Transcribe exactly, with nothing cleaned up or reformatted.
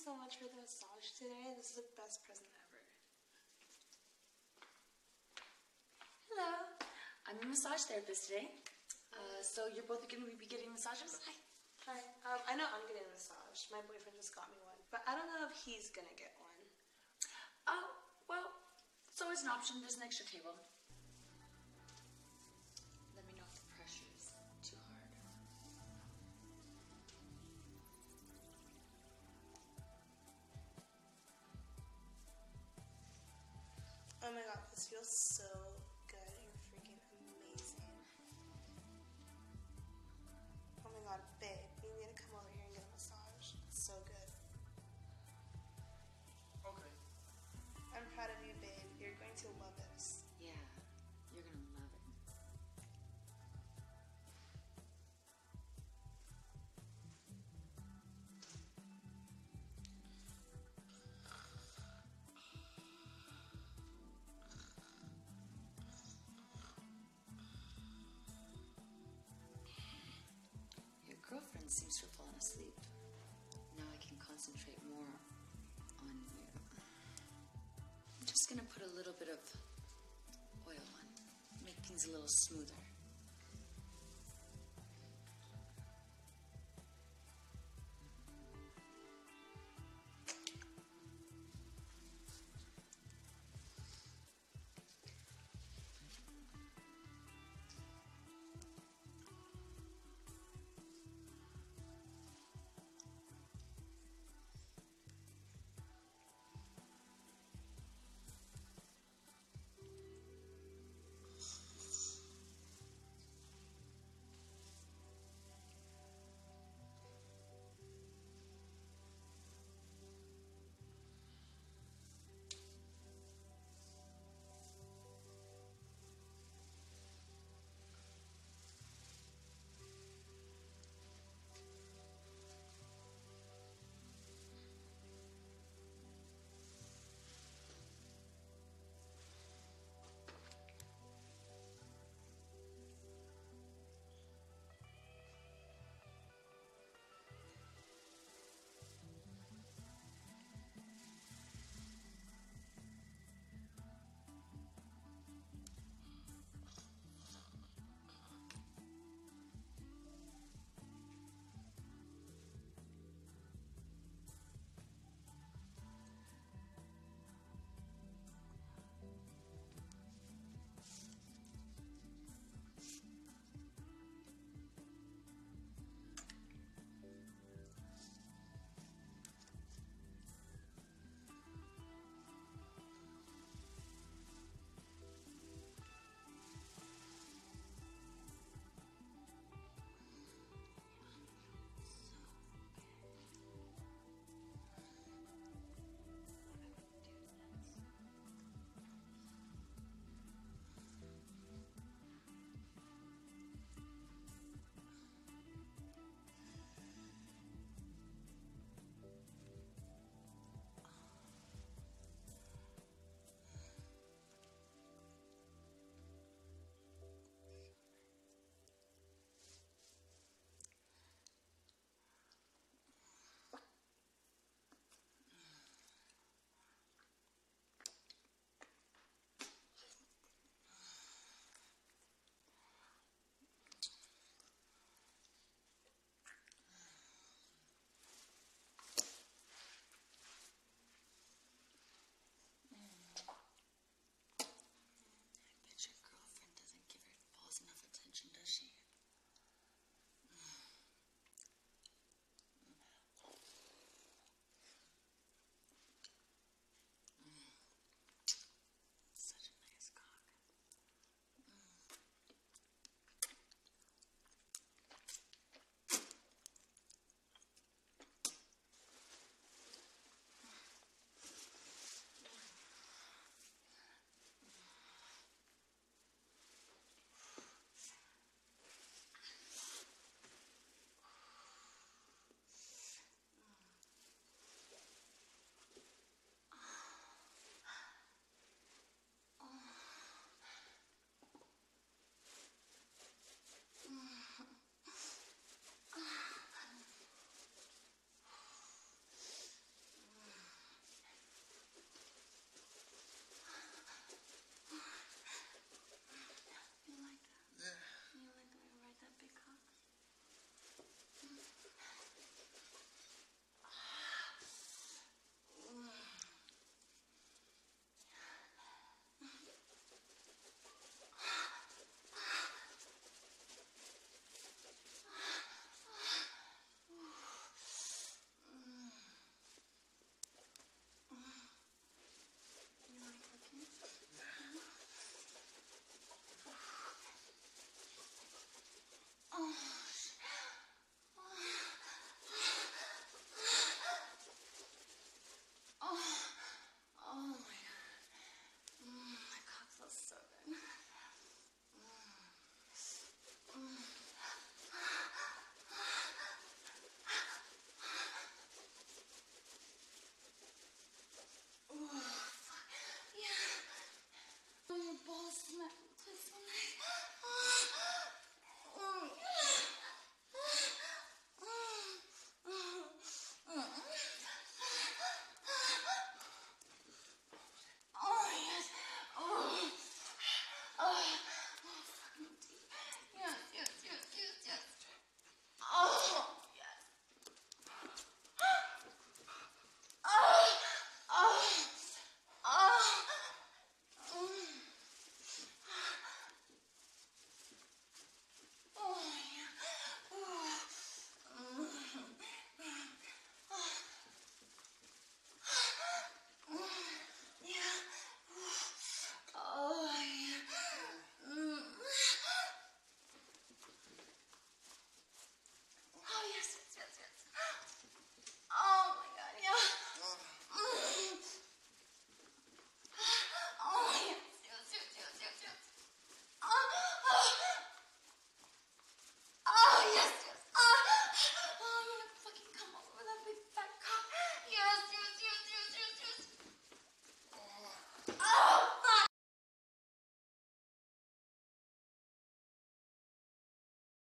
so much for the massage today. This is the best present ever. Hello. I'm a massage therapist today. Uh, so you're both going to be getting massages? Hi. Hi. Um, I know I'm getting a massage. My boyfriend just got me one. But I don't know if he's going to get one. Oh, well, it's always an option. There's an extra table. Let me know if the pressure is too hard. Oh my god, this feels so good. You're freaking amazing. Oh my god, babe, you need to come over here and get a massage. It's so good. Okay. I'm proud of you, babe. You're going to love this. Yeah, you're going to love it. Your girlfriend seems to have fallen asleep. Now I can concentrate more on you. I'm just going to put a little bit of oil on, make things a little smoother.